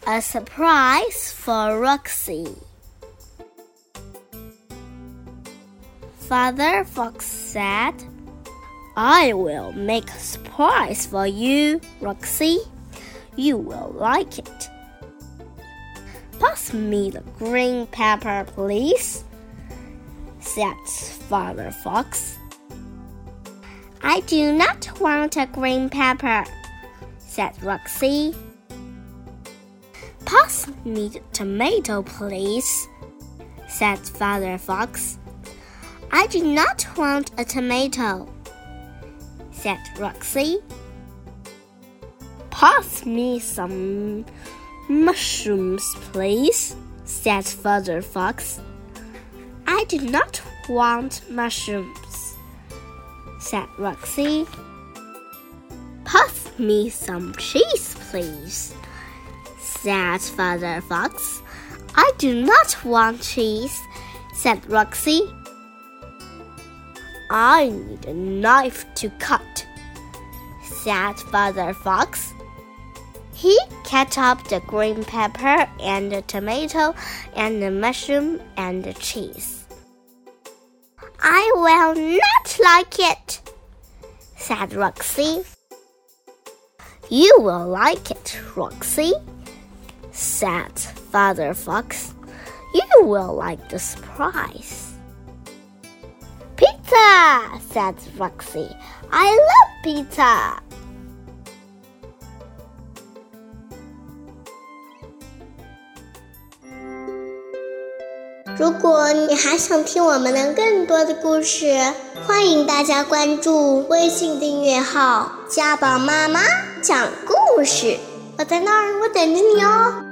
A surprise for Roxy. Father Fox said, I will make a surprise for you, Roxy. You will like it. Pass me the green pepper, please, said Father Fox. I do not want a green pepper, said Roxy. Pass me the tomato, please, said Father Fox. I do not want a tomato, said Roxy. Pass me some mushrooms, please, said Father Fox. I do not want mushrooms, said Roxy. Pass me some cheese, please, said Father Fox. I do not want cheese, said Roxy. I need a knife to cut, said Father Fox. He cut up the green pepper and the tomato and the mushroom and the cheese. I will not like it, said Roxy. You will like it, Roxy, said Father Fox. You will like the surprise. Pizza, said Roxy. I love pizza. 如果你还想听我们的更多的故事，欢迎大家关注微信订阅号家宝妈妈讲故事，我在那儿，我等着你哦。